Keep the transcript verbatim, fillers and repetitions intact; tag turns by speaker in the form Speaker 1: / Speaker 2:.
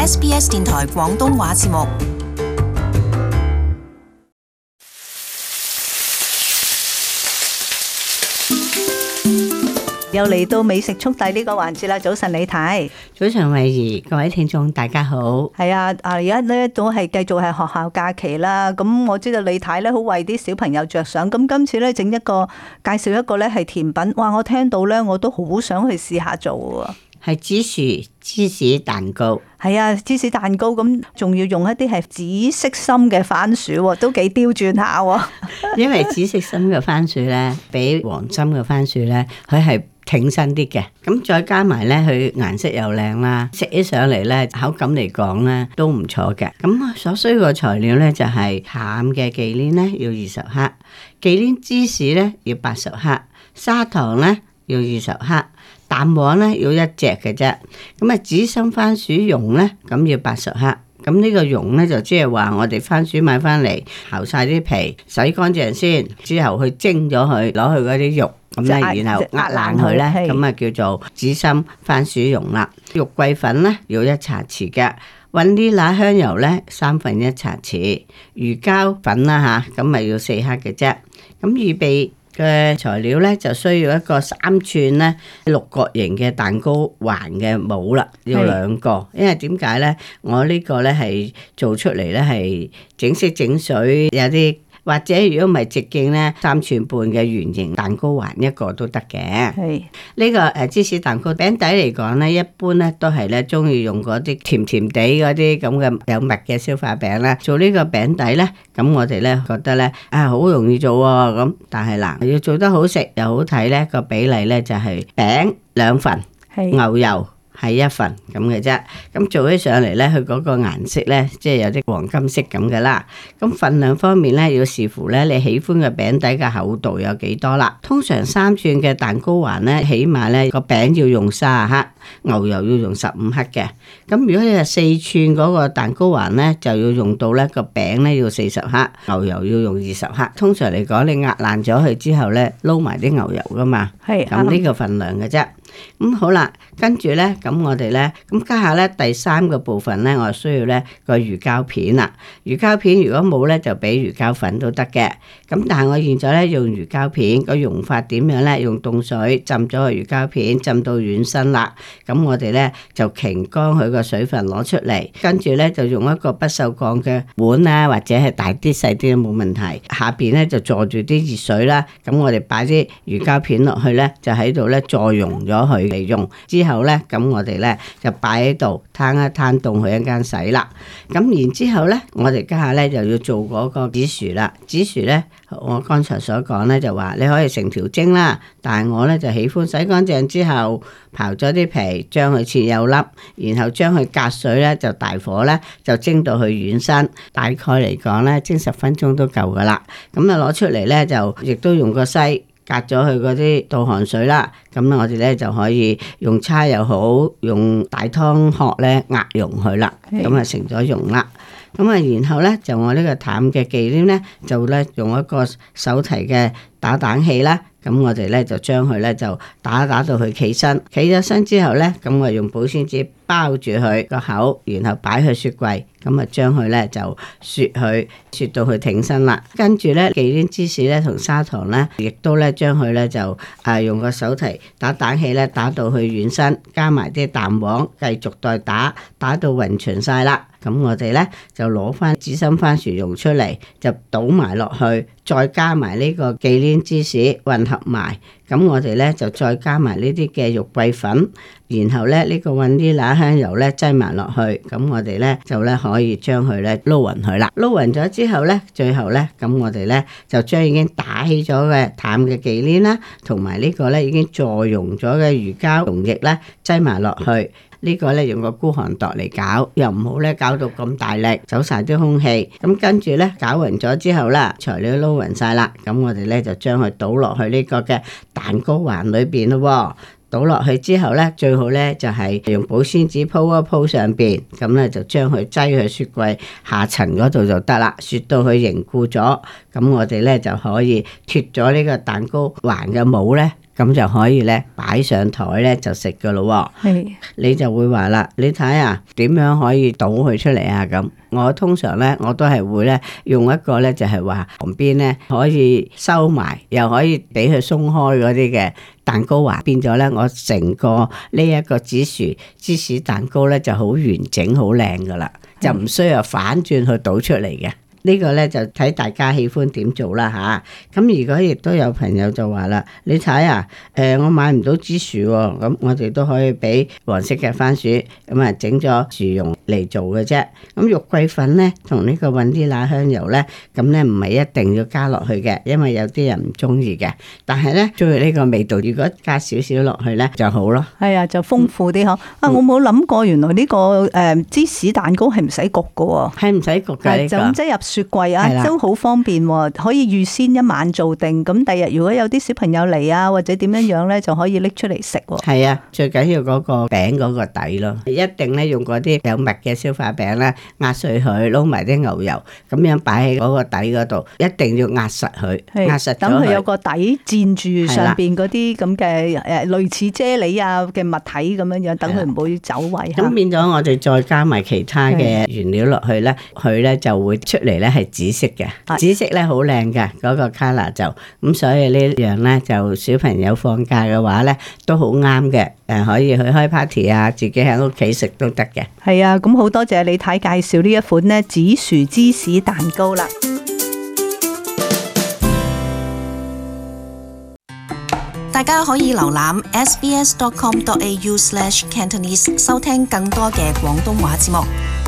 Speaker 1: S B S 電台廣東話節目。
Speaker 2: 又嚟到美食速遞呢個環節啦！早晨李太，
Speaker 3: 早晨慧怡，各位聽眾大家好。
Speaker 2: 係啊，啊而家咧都係繼續係學校假期啦。咁我知道李太咧好為啲小朋友着想，咁今次咧整一個介紹一個咧係甜品，哇！我聽到咧我都好想去試下做喎。
Speaker 3: 係紫薯芝士蛋糕。
Speaker 2: 係啊，芝士蛋糕咁，仲要用一啲係紫色心嘅番薯，都幾刁鑽下喎。
Speaker 3: 因為紫色心嘅番薯咧，比黃心嘅番薯咧，佢係挺身啲嘅。咁再加埋咧，佢顏色又靚啦，食起上嚟咧，口感嚟講咧都唔錯嘅。咁所需嘅材料咧就係淡嘅忌廉咧要二十克，忌廉芝士咧要八十克，砂糖咧要二十克。蛋黃咧要一隻嘅啫，咁啊紫心番薯蓉咧咁要八十克，咁呢個蓉咧就即係話我哋番薯買翻嚟刨晒啲皮，洗乾淨先，之後去蒸咗佢，攞去嗰啲肉，咁咧然後壓爛佢咧，咁啊叫做紫心番薯蓉啦。肉桂粉咧要一茶匙嘅，雲呢拿香油咧三分一茶匙，魚膠粉啦吓，咁咪要四克嘅啫。咁預備嘅材料咧就需要一個三寸咧六角形嘅蛋糕環嘅模啦，要兩個，因為點解咧？我呢個咧係做出嚟咧係整色整水，有啲或者如果唔係直徑咧三寸半嘅圓形蛋糕環一個都得嘅。係呢個誒芝士蛋糕餅底嚟講咧，一般咧都係咧中意用嗰啲甜甜地嗰啲咁嘅有蜜嘅消化餅啦。做呢個餅底咧，咁我哋咧覺得咧啊好容易做喎，咁但係嗱要做得好食又好睇咧，個比例咧就係餅兩份，牛油係一份咁嘅啫。咁做起上嚟咧，佢嗰個顏色咧，即係有啲黃金色咁嘅啦。咁份量方面咧，要視乎咧你喜歡嘅餅底嘅厚度有幾多啦。通常三寸嘅蛋糕環咧，起碼咧個餅要用三十克，牛油要用十五克嘅。咁如果你係四寸嗰個蛋糕環咧，就要用到咧個餅咧要四十克，牛油要用二十克。通常嚟講，你壓爛咗佢之後咧，撈埋啲牛油噶嘛。係咁呢個份量嘅啫。咁好啦，跟住咧，咁我哋咧，咁家下咧第三個部分咧，我需要咧個魚膠片啦。魚膠片如果冇咧，就俾魚膠粉都得嘅。咁但係我現在咧用魚膠片，個用法點樣咧？用凍水浸咗個魚膠片，浸到軟身啦。咁我哋咧就擎乾佢個水分攞出嚟，跟住咧就用一個不鏽鋼嘅碗啊，或者係大啲細啲都冇問題。下邊咧就坐住啲熱水啦。咁我哋擺啲魚膠片落去咧，就喺度咧再溶咗佢嚟用。之後咧，咁我哋咧就擺喺度攤一攤凍佢一間洗啦。咁然之後咧，我哋家下咧就要做嗰個紫薯啦。紫薯咧，我剛才所講咧就話你可以成條蒸啦，但係我咧就喜歡洗乾淨之後刨咗啲皮，將佢切幼粒，然後將佢隔水咧就大火咧就蒸到佢軟身，大概嚟講咧蒸十分鐘都夠噶啦。咁啊攞出嚟咧就亦都用個篩隔咗佢嗰啲倒汗水啦。咁我哋咧就可以用叉又好，用大湯殼咧壓溶佢啦。咁啊成咗溶啦。咁啊，然後咧就我呢個淡嘅忌廉咧，就咧用一個手提嘅打蛋器啦。咁我哋咧就將佢咧就打打到佢企身，企咗身之後咧，咁我用保鮮紙包住佢個口，然後擺去雪櫃，咁啊將佢咧就雪佢，雪到佢挺身啦。跟住咧忌廉芝士咧同砂糖咧，亦都咧將佢咧就啊用個手提打蛋器咧打到佢軟身，加埋啲蛋黃，繼續再打，打到勻勻晒啦。咁我哋咧就攞翻紫心番薯蓉出嚟，就倒埋落去，再加埋呢個忌廉芝士混合埋。咁我哋咧就再加埋呢啲嘅肉桂粉，然後咧呢個雲呢拿香油咧擠埋落去。咁我哋咧就咧可以將佢咧撈勻佢啦。撈勻咗之後咧，最後咧咁我哋咧就將已經打起咗嘅淡嘅忌廉啦，同埋呢個咧已經助溶咗嘅魚膠溶液咧擠埋落去。呢個咧用個孤寒度嚟搞，又唔好咧搞到咁大力，走晒啲空氣。咁跟住咧攪勻咗之後啦，材料撈勻晒啦，咁我哋咧就將佢倒落去呢個嘅蛋糕環裏邊咯。倒落去之後咧，最好咧就係用保鮮紙鋪一鋪上邊，咁咧就將佢擠去雪櫃下層嗰度就得啦。雪到佢凝固咗，咁我哋咧就可以脫咗呢個蛋糕環嘅帽咧。 咁就可以咧擺上台咧就食噶咯。
Speaker 2: 係
Speaker 3: 你就會話啦，你睇下點樣可以倒佢出嚟啊？咁我通常咧我都係會咧用一個咧就係話旁邊咧可以收埋，又可以俾佢鬆開嗰啲嘅蛋糕華，變咗咧我成個呢一個紫薯芝士蛋糕咧就好完整好靚噶啦，就唔需要反轉去倒出嚟嘅。呢個咧就睇大家喜歡點做啦吓，咁如果亦都有朋友就話啦，你睇啊，誒、呃、我買唔到芝薯喎，咁我哋都可以俾黃色嘅番薯，咁啊整咗薯蓉嚟做嘅啫。咁肉桂粉咧同呢個雲啲拿香油咧，咁咧唔係一定要加落去嘅，因為有啲人唔中意嘅。但係咧中意呢個味道，如果加少少落去咧就好咯。係
Speaker 2: 啊，就豐富啲嗬。啊，我冇諗過原來呢個誒芝士蛋糕係唔使焗嘅喎，
Speaker 3: 係唔使焗嘅呢個，
Speaker 2: 就咁即係入雪櫃啊，都好方便喎，可以預先一晚做定，咁第日如果有啲小朋友嚟啊，或者點樣樣咧，就可以拎出嚟食喎。
Speaker 3: 係啊，最緊要嗰個餅嗰個底咯，一定咧用嗰啲有蜜嘅消化餅咧，壓碎佢，撈埋啲牛油，咁樣擺喺嗰個底嗰度，一定要壓實佢，壓實咗佢，
Speaker 2: 等佢有個底墊住上邊嗰啲咁嘅誒類似啫喱啊嘅物體咁樣樣，等佢唔會走位。
Speaker 3: 咁變咗我哋再加埋其他嘅原料落去咧，佢咧就會出嚟咧係紫色嘅，紫色咧好靚嘅嗰個 colour 就咁，所以呢樣咧就小朋友放假嘅話咧都好啱嘅，誒可以去開 party 啊，自己喺屋企食都得嘅。係
Speaker 2: 啊，咁好多謝李太介紹呢一款咧紫薯芝士蛋糕啦。
Speaker 1: 大家可以瀏覽 s b s dot com dot a u slash cantonese 收聽更多嘅廣東話節目。